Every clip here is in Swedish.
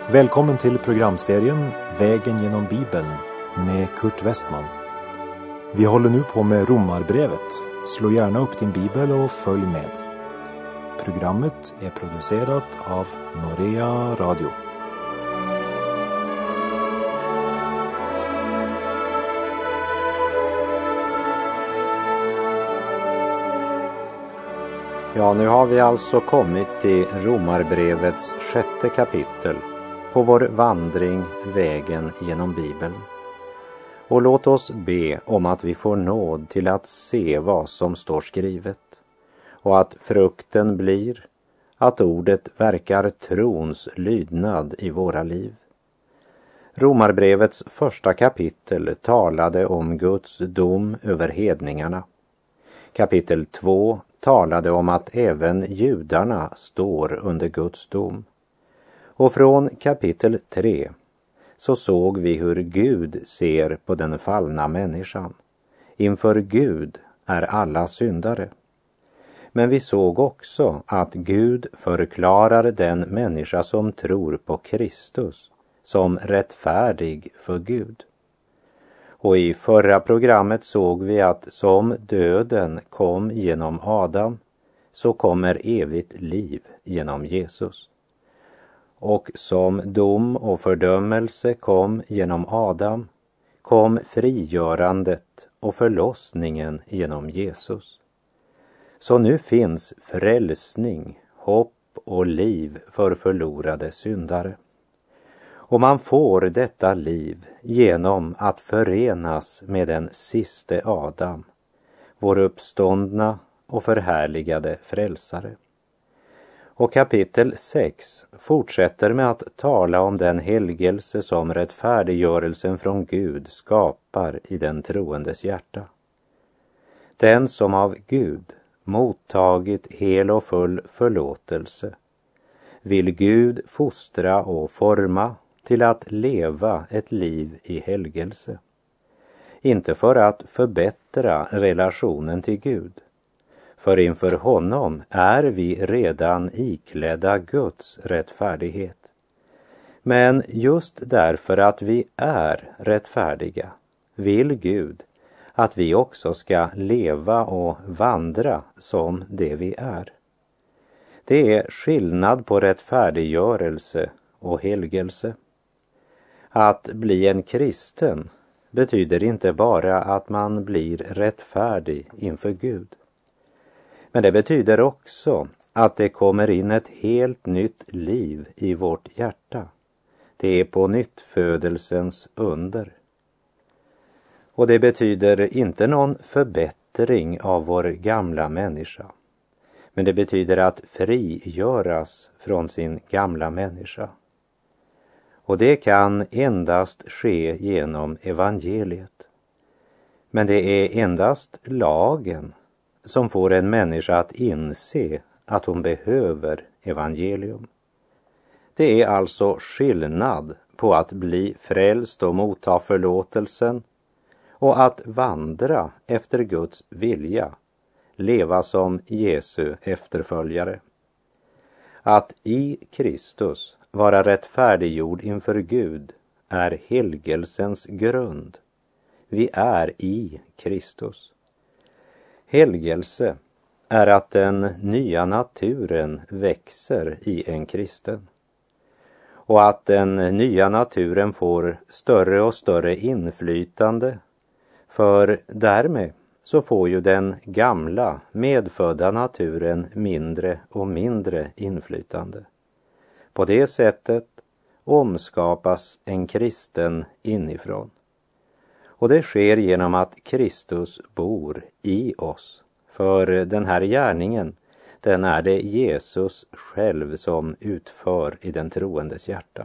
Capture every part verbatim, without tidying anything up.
Välkommen till programserien Vägen genom Bibeln med Kurt Westman. Vi håller nu på med Romarbrevet. Slå gärna upp din bibel och följ med. Programmet är producerat av Norea Radio. Ja, nu har vi alltså kommit till Romarbrevets sjätte kapitel på vår vandring vägen genom Bibeln. Och låt oss be om att vi får nåd till att se vad som står skrivet och att frukten blir att ordet verkar trons lydnad i våra liv. Romarbrevets första kapitel talade om Guds dom över hedningarna. Kapitel två talade om att även judarna står under Guds dom. Och från kapitel tre så såg vi hur Gud ser på den fallna människan. Inför Gud är alla syndare. Men vi såg också att Gud förklarar den människa som tror på Kristus som rättfärdig för Gud. Och i förra programmet såg vi att som döden kom genom Adam så kommer evigt liv genom Jesus. Och som dom och fördömelse kom genom Adam kom frigörandet och förlossningen genom Jesus. Så nu finns frälsning, hopp och liv för förlorade syndare. Och man får detta liv genom att förenas med den siste Adam, vår uppståndna och förhärligade frälsare. Och kapitel sex fortsätter med att tala om den helgelse som rättfärdiggörelsen från Gud skapar i den troendes hjärta. Den som av Gud mottagit hel och full förlåtelse vill Gud fostra och forma till att leva ett liv i helgelse. Inte för att förbättra relationen till Gud, för inför honom är vi redan iklädda Guds rättfärdighet. Men just därför att vi är rättfärdiga vill Gud att vi också ska leva och vandra som det vi är. Det är skillnad på rättfärdiggörelse och helgelse. Att bli en kristen betyder inte bara att man blir rättfärdig inför Gud. Men det betyder också att det kommer in ett helt nytt liv i vårt hjärta. Det är på nyttfödelsens under. Och det betyder inte någon förbättring av vår gamla människa. Men det betyder att frigöras från sin gamla människa. Och det kan endast ske genom evangeliet. Men det är endast lagen som får en människa att inse att hon behöver evangelium. Det är alltså skillnad på att bli frälst och motta förlåtelsen och att vandra efter Guds vilja, leva som Jesu efterföljare. Att i Kristus vara rättfärdiggjord inför Gud är helgelsens grund. Vi är i Kristus. Helgelse är att den nya naturen växer i en kristen. Och att den nya naturen får större och större inflytande. För därmed så får ju den gamla medfödda naturen mindre och mindre inflytande. På det sättet omskapas en kristen inifrån. Och det sker genom att Kristus bor i oss. För den här gärningen, den är det Jesus själv som utför i den troendes hjärta.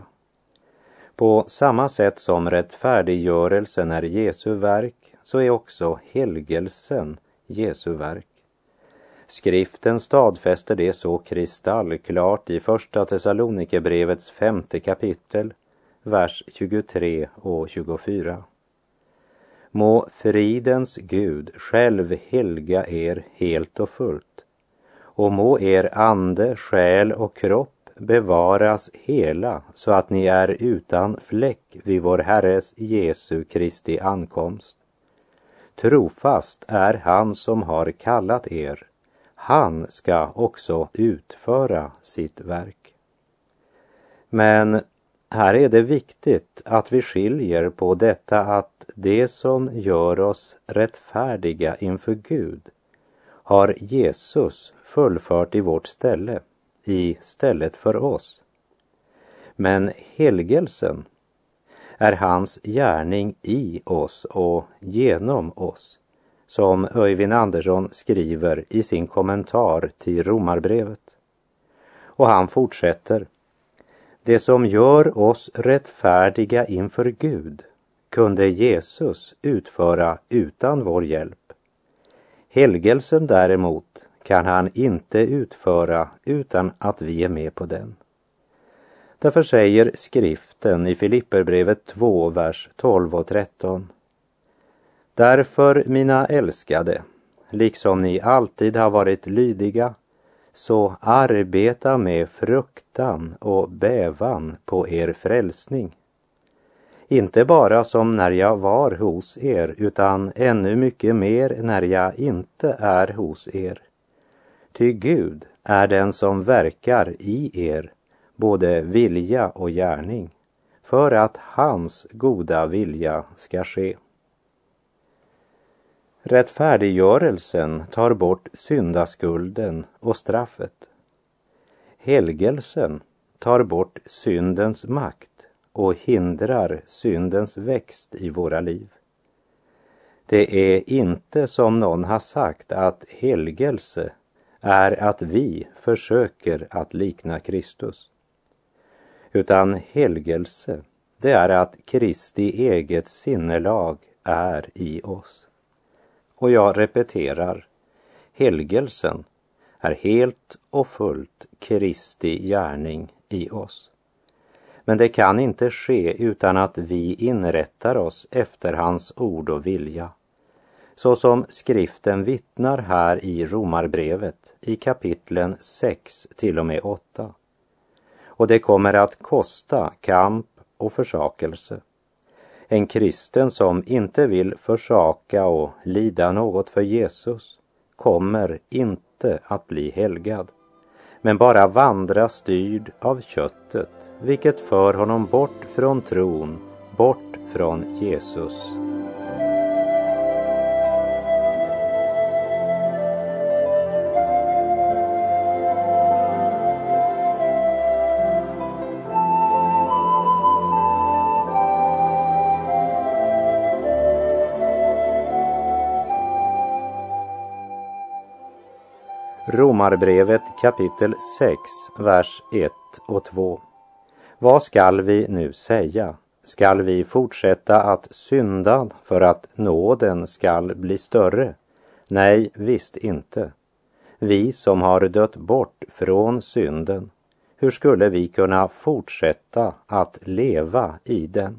På samma sätt som rättfärdiggörelsen är Jesu verk, så är också helgelsen Jesu verk. Skriften stadfäster det så kristallklart i första Thessalonikerbrevets femte kapitel, vers tjugotre och tjugofyra. Må fridens Gud själv helga er helt och fullt, och må er ande, själ och kropp bevaras hela så att ni är utan fläck vid vår Herres Jesu Kristi ankomst. Trofast är han som har kallat er. Han ska också utföra sitt verk. Men här är det viktigt att vi skiljer på detta att det som gör oss rättfärdiga inför Gud har Jesus fullfört i vårt ställe, i stället för oss. Men helgelsen är hans gärning i oss och genom oss, som Öyvind Andersson skriver i sin kommentar till Romarbrevet. Och han fortsätter: det som gör oss rättfärdiga inför Gud kunde Jesus utföra utan vår hjälp. Helgelsen däremot kan han inte utföra utan att vi är med på den. Därför säger skriften i Filipperbrevet två, vers tolv och tretton: därför, mina älskade, liksom ni alltid har varit lydiga, så arbeta med fruktan och bävan på er frälsning. Inte bara som när jag var hos er, utan ännu mycket mer när jag inte är hos er. Ty Gud är den som verkar i er, både vilja och gärning, för att hans goda vilja ska ske. Rättfärdiggörelsen tar bort syndaskulden och straffet. Helgelsen tar bort syndens makt och hindrar syndens växt i våra liv. Det är inte som någon har sagt att helgelse är att vi försöker att likna Kristus. Utan helgelse, det är att Kristi eget sinnelag är i oss. Och jag repeterar, helgelsen är helt och fullt Kristi gärning i oss. Men det kan inte ske utan att vi inrättar oss efter hans ord och vilja. Så som skriften vittnar här i Romarbrevet i kapitlen sex till och med åtta. Och det kommer att kosta kamp och försakelse. En kristen som inte vill försaka och lida något för Jesus kommer inte att bli helgad, men bara vandra styrd av köttet, vilket för honom bort från tron, bort från Jesus. Romarbrevet kapitel sex, vers ett och två. Vad skall vi nu säga? Skall vi fortsätta att synda för att nåden skall bli större? Nej, visst inte. Vi som har dött bort från synden, hur skulle vi kunna fortsätta att leva i den?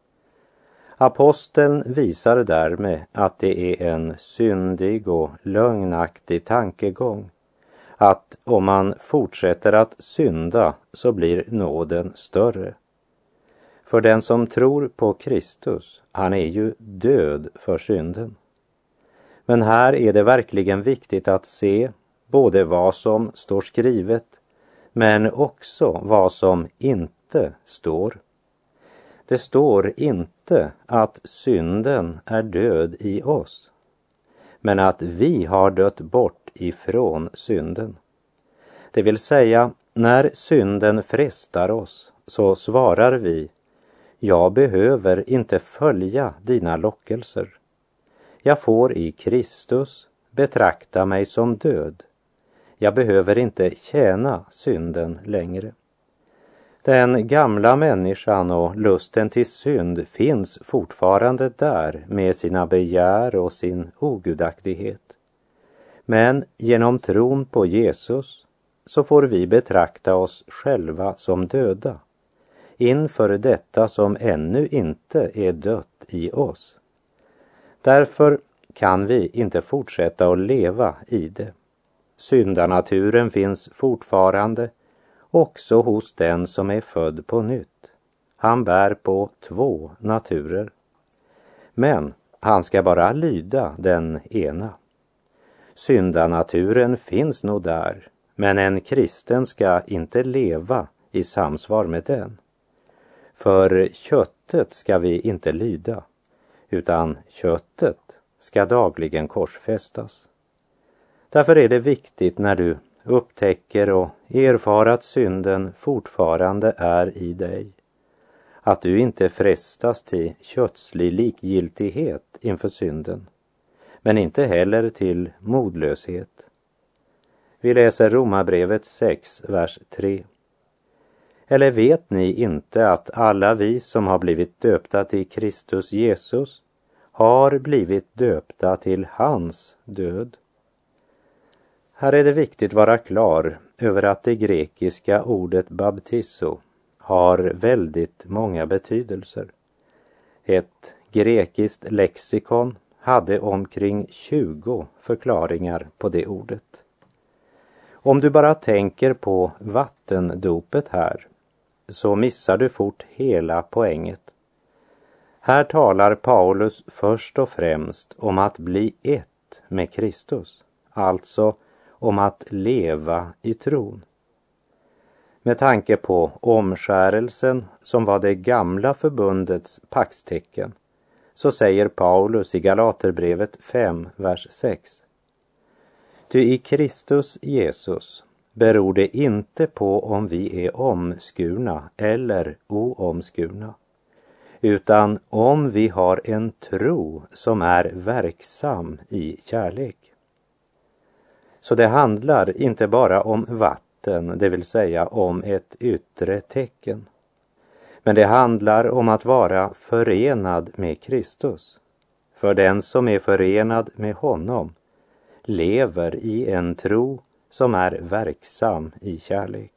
Aposteln visar därmed att det är en syndig och lögnaktig tankegång att om man fortsätter att synda så blir nåden större. För den som tror på Kristus, han är ju död för synden. Men här är det verkligen viktigt att se både vad som står skrivet men också vad som inte står. Det står inte att synden är död i oss, men att vi har dött bort ifrån synden. Det vill säga, när synden frestar oss så svarar vi: jag behöver inte följa dina lockelser. Jag får i Kristus betrakta mig som död. Jag behöver inte tjäna synden längre. Den gamla människan och lusten till synd finns fortfarande där med sina begär och sin ogudaktighet. Men genom tron på Jesus så får vi betrakta oss själva som döda inför detta som ännu inte är dött i oss. Därför kan vi inte fortsätta att leva i det. Syndanaturen finns fortfarande också hos den som är född på nytt. Han bär på två naturer. Men han ska bara lyda den ena. Syndanaturen finns nog där, men en kristen ska inte leva i samsvar med den. För köttet ska vi inte lyda, utan köttet ska dagligen korsfästas. Därför är det viktigt när du upptäcker och erfar att synden fortfarande är i dig, att du inte frestas till kötslig likgiltighet inför synden, men inte heller till modlöshet. Vi läser Romarbrevet sex, vers tre. Eller vet ni inte att alla vi som har blivit döpta till Kristus Jesus har blivit döpta till hans död? Här är det viktigt att vara klar över att det grekiska ordet baptizo har väldigt många betydelser. Ett grekiskt lexikon hade omkring tjugo förklaringar på det ordet. Om du bara tänker på vattendopet här, så missar du fort hela poänget. Här talar Paulus först och främst om att bli ett med Kristus, alltså om att leva i tron. Med tanke på omskärelsen som var det gamla förbundets paktstecken, så säger Paulus i Galaterbrevet fem, vers sex. Ty i Kristus Jesus beror det inte på om vi är omskurna eller oomskurna, utan om vi har en tro som är verksam i kärlek. Så det handlar inte bara om vatten, det vill säga om ett yttre tecken. Men det handlar om att vara förenad med Kristus. För den som är förenad med honom lever i en tro som är verksam i kärlek.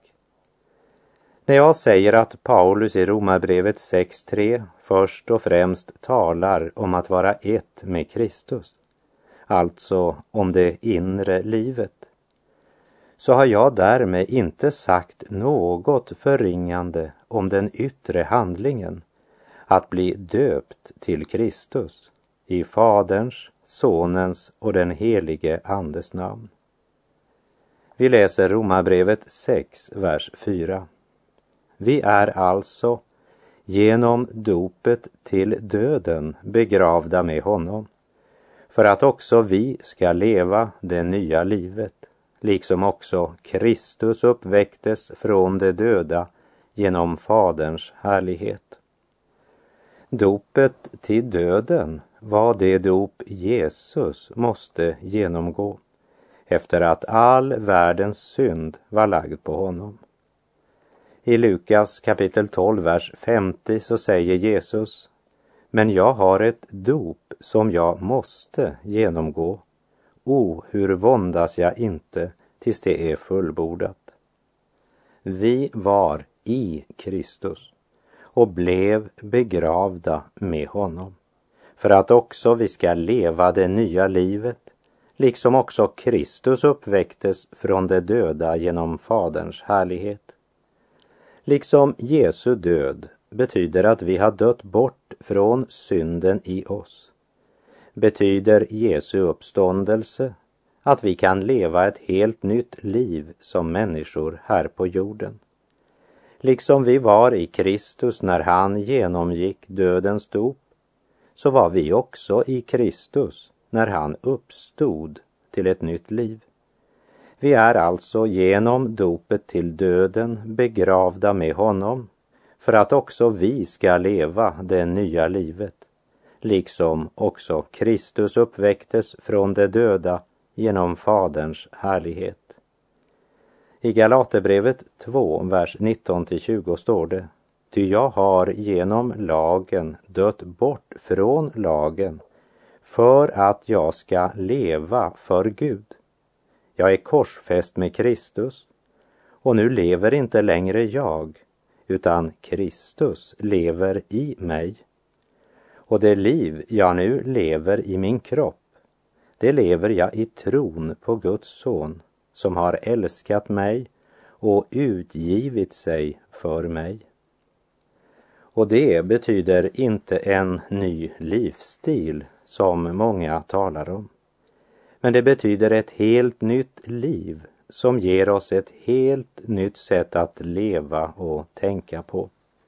När jag säger att Paulus i Romarbrevet sex tre först och främst talar om att vara ett med Kristus, alltså om det inre livet, så har jag därmed inte sagt något förringande om den yttre handlingen, att bli döpt till Kristus i Faderns, Sonens och den helige Andes namn. Vi läser Romarbrevet sex, vers fyra. Vi är alltså genom dopet till döden begravda med honom, för att också vi ska leva det nya livet, liksom också Kristus uppväcktes från de döda genom Faderns härlighet. Dopet till döden var det dop Jesus måste genomgå, efter att all världens synd var lagd på honom. I Lukas kapitel tolv, vers femtio så säger Jesus: men jag har ett dop som jag måste genomgå. O, hur våndas jag inte tills det är fullbordat. Vi var i Kristus och blev begravda med honom, för att också vi ska leva det nya livet, liksom också Kristus uppväcktes från de döda genom Faderns härlighet. Liksom Jesu död betyder att vi har dött bort från synden i oss, betyder Jesu uppståndelse att vi kan leva ett helt nytt liv som människor här på jorden. Liksom vi var i Kristus när han genomgick dödens dop, så var vi också i Kristus när han uppstod till ett nytt liv. Vi är alltså genom dopet till döden begravda med honom, för att också vi ska leva det nya livet, liksom också Kristus uppväcktes från de döda genom Faderns härlighet. I Galaterbrevet två, vers nitton till tjugo står det: ty jag har genom lagen dött bort från lagen, för att jag ska leva för Gud. Jag är korsfäst med Kristus, och nu lever inte längre jag, utan Kristus lever i mig. Och det liv jag nu lever i min kropp, det lever jag i tron på Guds son, som har älskat mig och utgivit sig för mig. Och det betyder inte en ny livsstil som många talar om. Men det betyder ett helt nytt liv som ger oss ett helt nytt sätt att leva och tänka på.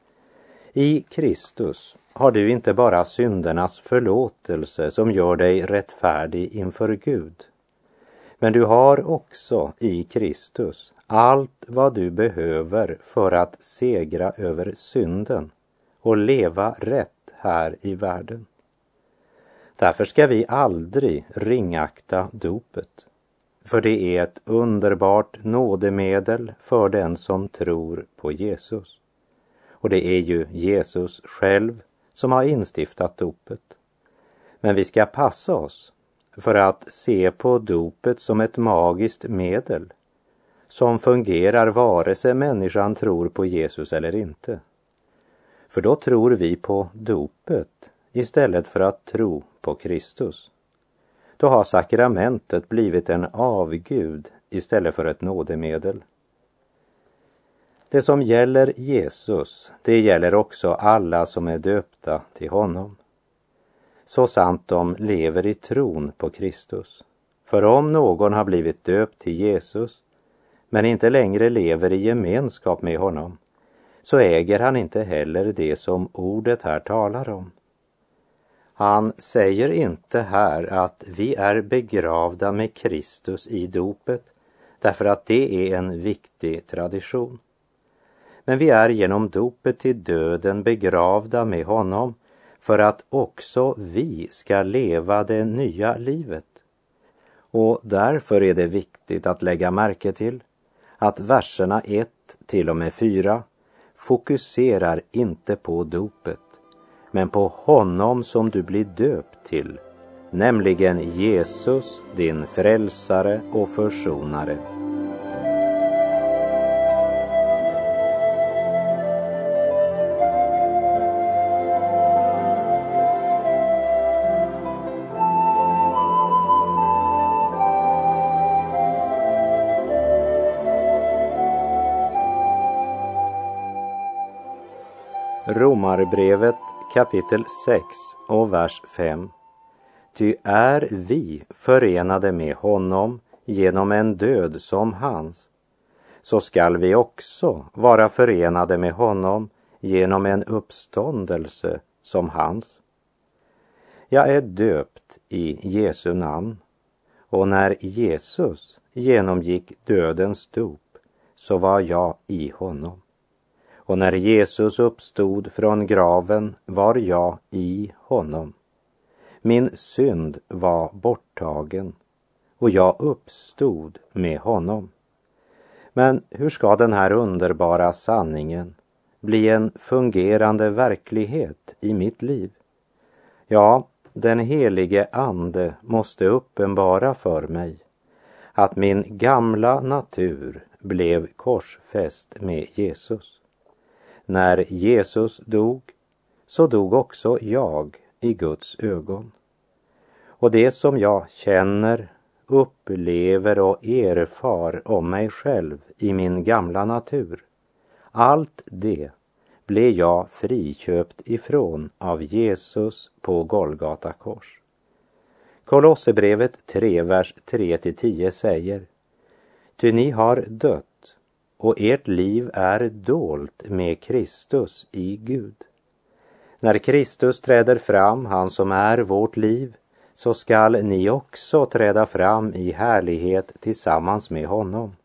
I Kristus har du inte bara syndernas förlåtelse som gör dig rättfärdig inför Gud. Men du har också i Kristus allt vad du behöver för att segra över synden och leva rätt här i världen. Därför ska vi aldrig ringakta dopet, för det är ett underbart nådemedel för den som tror på Jesus. Och det är ju Jesus själv som har instiftat dopet. Men vi ska passa oss för att se på dopet som ett magiskt medel som fungerar vare sig människan tror på Jesus eller inte. För då tror vi på dopet istället för att tro på Kristus. Då har sakramentet blivit en avgud istället för ett nådemedel. Det som gäller Jesus, det gäller också alla som är döpta till honom. Så sant de lever i tron på Kristus. För om någon har blivit döpt till Jesus, men inte längre lever i gemenskap med honom, så äger han inte heller det som ordet här talar om. Han säger inte här att vi är begravda med Kristus i dopet, därför att det är en viktig tradition. Men vi är genom dopet till döden begravda med honom för att också vi ska leva det nya livet. Och därför är det viktigt att lägga märke till att verserna ett till och med fyra fokuserar inte på dopet, men på honom som du blir döpt till, nämligen Jesus, din frälsare och försonare. Romarbrevet kapitel sex och vers fem. Ty är vi förenade med honom genom en död som hans, så skall vi också vara förenade med honom genom en uppståndelse som hans. Jag är döpt i Jesu namn, och när Jesus genomgick dödens dop så var jag i honom. Och när Jesus uppstod från graven var jag i honom. Min synd var borttagen och jag uppstod med honom. Men hur ska den här underbara sanningen bli en fungerande verklighet i mitt liv? Ja, den helige ande måste uppenbara för mig att min gamla natur blev korsfäst med Jesus. När Jesus dog, så dog också jag i Guds ögon. Och det som jag känner, upplever och erfar om mig själv i min gamla natur, allt det blev jag friköpt ifrån av Jesus på Golgata kors. Kolosserbrevet tre, vers tre till tio säger: Ty ni har dött, och ert liv är dolt med Kristus i Gud. När Kristus träder fram, han som är vårt liv, så skall ni också träda fram i härlighet tillsammans med honom.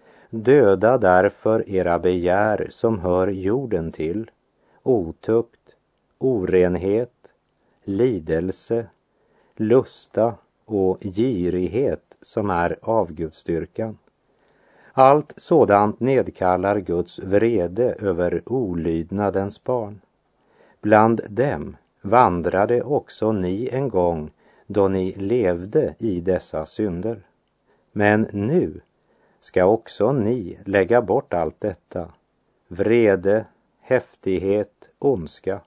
Döda därför era begär som hör jorden till, otukt, orenhet, lidelse, lusta och girighet som är avgudsdyrkan. Allt sådant nedkallar Guds vrede över olydnadens barn. Bland dem vandrade också ni en gång då ni levde i dessa synder. Men nu ska också ni lägga bort allt detta: vrede, häftighet, ondska.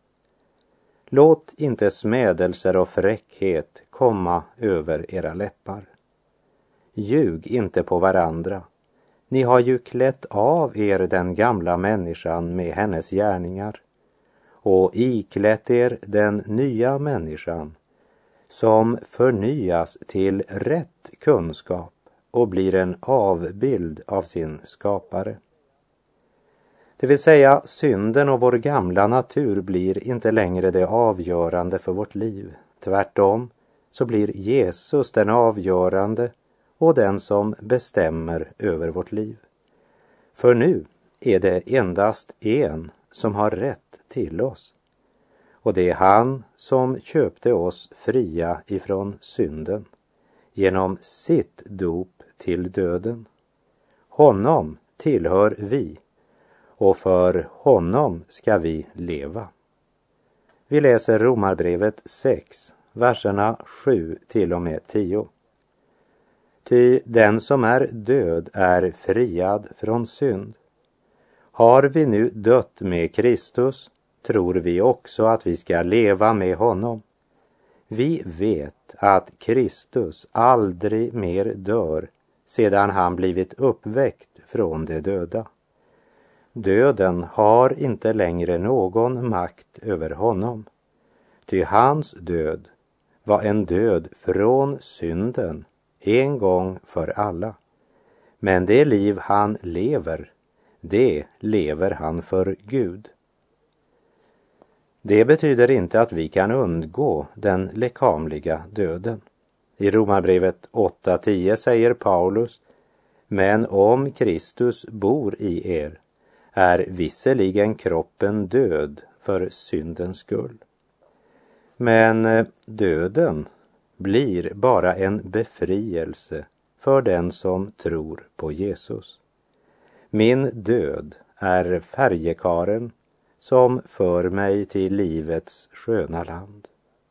Låt inte smädelser och fräckhet komma över era läppar. Ljug inte på varandra, Ni har ju klätt av er den gamla människan med hennes gärningar och iklätt er den nya människan som förnyas till rätt kunskap och blir en avbild av sin skapare. Det vill säga, synden och vår gamla natur blir inte längre det avgörande för vårt liv. Tvärtom så blir Jesus den avgörande och den som bestämmer över vårt liv. För nu är det endast en som har rätt till oss. Och det är han som köpte oss fria ifrån synden genom sitt dop till döden. Honom tillhör vi och för honom ska vi leva. Vi läser Romarbrevet sex, verserna sju till och med tio. Ty den som är död är friad från synd. Har vi nu dött med Kristus, tror vi också att vi ska leva med honom. Vi vet att Kristus aldrig mer dör sedan han blivit uppväckt från de döda. Döden har inte längre någon makt över honom. Ty hans död var en död från synden en gång för alla. Men det liv han lever, det lever han för Gud. Det betyder inte att vi kan undgå den lekamliga döden. I Romarbrevet åtta tio säger Paulus: men om Kristus bor i er är visserligen kroppen död för syndens skull. Men döden blir bara en befrielse för den som tror på Jesus. Min död är färjekaren som för mig till livets sköna land.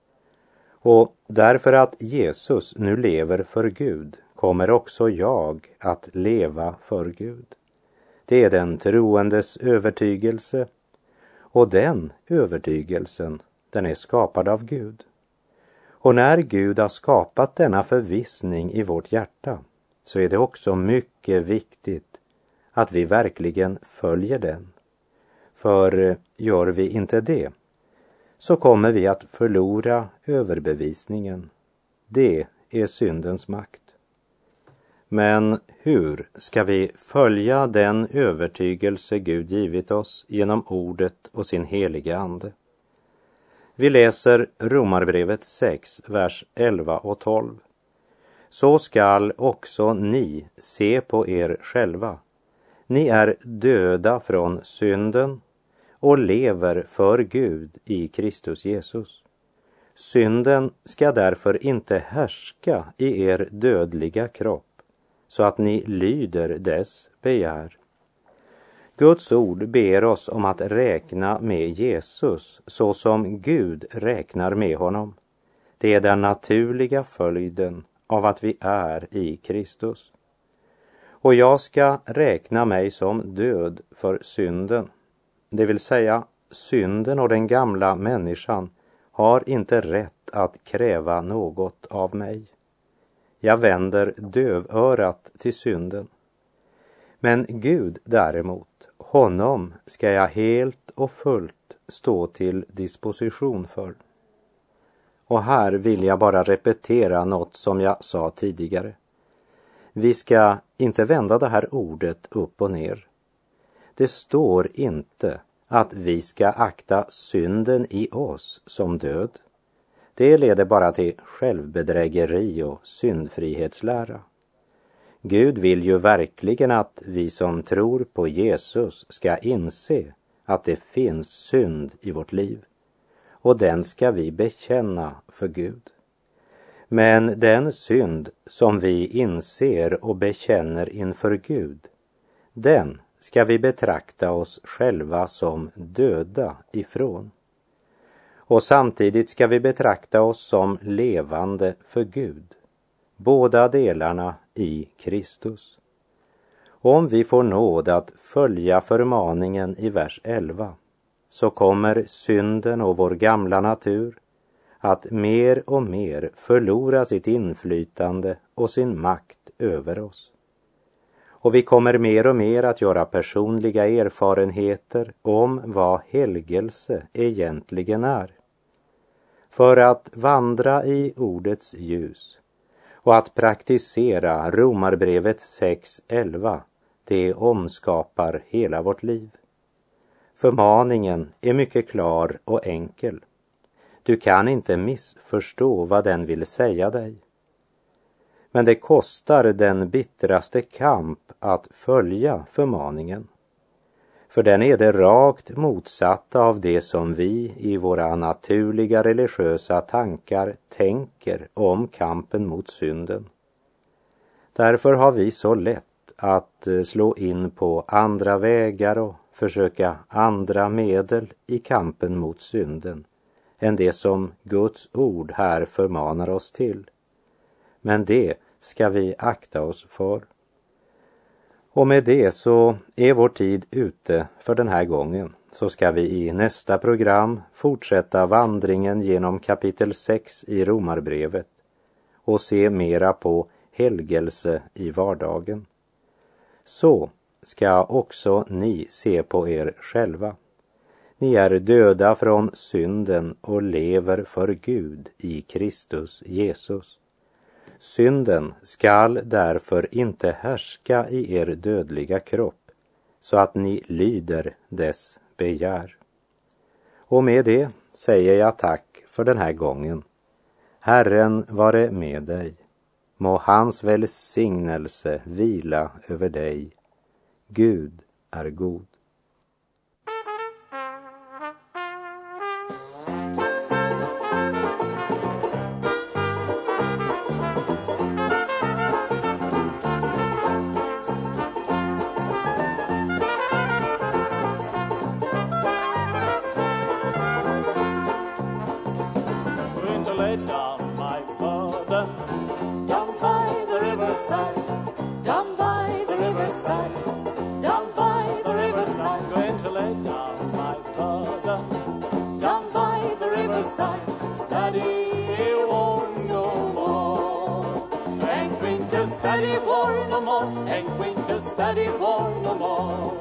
Och därför att Jesus nu lever för Gud kommer också jag att leva för Gud. Det är den troendes övertygelse, och den övertygelsen, den är skapad av Gud. Och när Gud har skapat denna förvissning i vårt hjärta, så är det också mycket viktigt att vi verkligen följer den. För gör vi inte det, så kommer vi att förlora överbevisningen. Det är syndens makt. Men hur ska vi följa den övertygelse Gud givit oss genom ordet och sin heliga ande? Vi läser Romarbrevet sex, vers elva och tolv. Så skall också ni se på er själva. Ni är döda från synden och lever för Gud i Kristus Jesus. Synden ska därför inte härska i er dödliga kropp, så att ni lyder dess begär. Guds ord ber oss om att räkna med Jesus så som Gud räknar med honom. Det är den naturliga följden av att vi är i Kristus. Och jag ska räkna mig som död för synden. Det vill säga, synden och den gamla människan har inte rätt att kräva något av mig. Jag vänder dövörat till synden. Men Gud däremot, honom ska jag helt och fullt stå till disposition för. Och här vill jag bara repetera något som jag sa tidigare. Vi ska inte vända det här ordet upp och ner. Det står inte att vi ska akta synden i oss som död. Det leder bara till självbedrägeri och syndfrihetslära. Gud vill ju verkligen att vi som tror på Jesus ska inse att det finns synd i vårt liv. Och den ska vi bekänna för Gud. Men den synd som vi inser och bekänner inför Gud, den ska vi betrakta oss själva som döda ifrån. Och samtidigt ska vi betrakta oss som levande för Gud. Båda delarna i Kristus. Om vi får nåd att följa förmaningen i vers elva, så kommer synden och vår gamla natur att mer och mer förlora sitt inflytande och sin makt över oss. Och vi kommer mer och mer att göra personliga erfarenheter om vad helgelse egentligen är. För att vandra i ordets ljus och att praktisera Romarbrevet sex elva, det omskapar hela vårt liv. Förmaningen är mycket klar och enkel. Du kan inte missförstå vad den vill säga dig. Men det kostar den bittraste kamp att följa förmaningen. För den är det rakt motsatta av det som vi i våra naturliga religiösa tankar tänker om kampen mot synden. Därför har vi så lätt att slå in på andra vägar och försöka andra medel i kampen mot synden än det som Guds ord här förmanar oss till. Men det ska vi akta oss för. Och med det så är vår tid ute för den här gången. Så ska vi i nästa program fortsätta vandringen genom kapitel sex i Romarbrevet och se mera på helgelse i vardagen. Så ska också ni se på er själva. Ni är döda från synden och lever för Gud i Kristus Jesus. Synden skall därför inte härska i er dödliga kropp, så att ni lyder dess begär. Och med det säger jag tack för den här gången. Herren vare med dig. Må hans välsignelse vila över dig. Gud är god. Study war no more, and Quintus study war no more.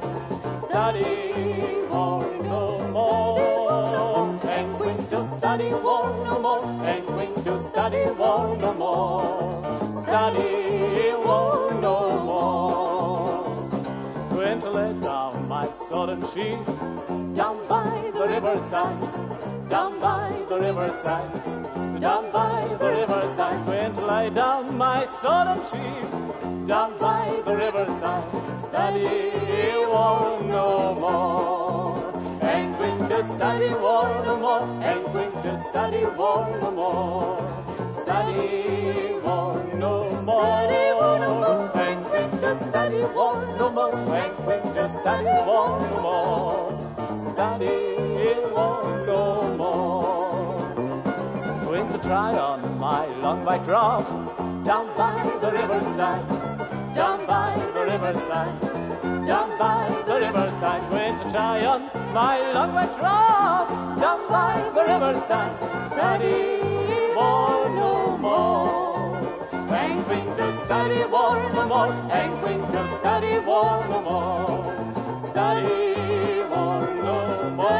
Study war no more, and Quintus study war no more, and Quintus study war no more. Study war no more. Quintus laid down my sword and shield, down by the riverside, down by the riverside. Down by the riverside, Quint lay down my sword and shield. Down by the riverside, study war no more. And Quint study war no more. And Quint study war no more. Study war no more. And Quint study war no more. And Quint study war no more. Study war no more. Going to try on my long white robe, down by the riverside, down by the riverside, down by the riverside. Going to try on my long white robe, down by the riverside. Study war no more, and Quintus study war no more, and Quintus study war no more. Study war no more,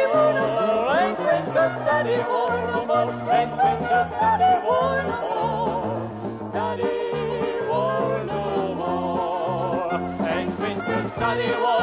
and Quintus study war no more. And Quintus study war no more. Study war no more. And Quintus study war